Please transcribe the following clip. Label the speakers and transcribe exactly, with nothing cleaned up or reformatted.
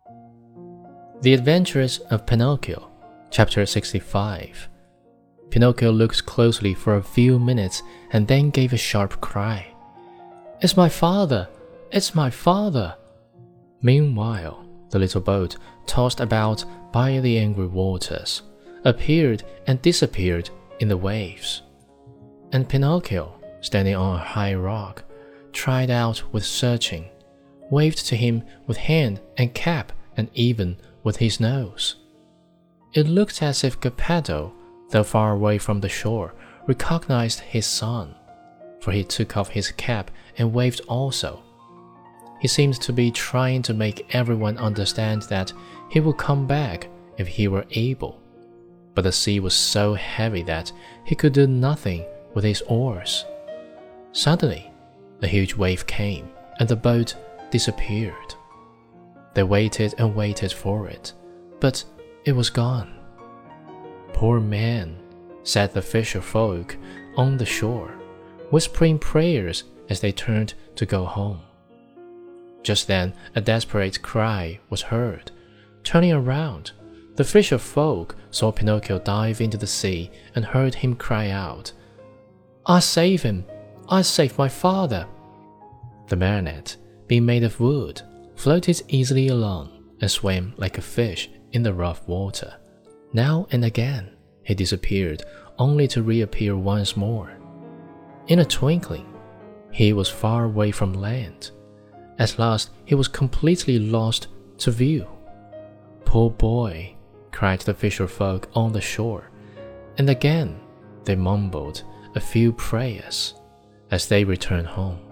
Speaker 1: The Adventures of Pinocchio, Chapter sixty-five. Pinocchio looked closely for a few minutes and then gave a sharp cry. "It's my father! It's my father!" Meanwhile, the little boat, tossed about by the angry waters, appeared and disappeared in the waves. And Pinocchio, standing on a high rock, tried out with searching, waved to him with hand and cap and even with his nose. It looked as if Geppetto, though far away from the shore, recognized his son, for he took off his cap and waved also. He seemed to be trying to make everyone understand that he would come back if he were able, but the sea was so heavy that he could do nothing with his oars. Suddenly, a huge wave came, and the boat disappeared. They waited and waited for it, but it was gone. "Poor man," said the fisher folk on the shore, whispering prayers as they turned to go home. Just then a desperate cry was heard. Turning around, the fisher folk saw Pinocchio dive into the sea and heard him cry out, "I save him! I save my father!" The marionette, being made of wood, floated easily along and swam like a fish in the rough water. Now and again he disappeared, only to reappear once more. In a twinkling, he was far away from land. At last he was completely lost to view. "Poor boy!" cried the fisher folk on the shore, and again they mumbled a few prayers as they returned home.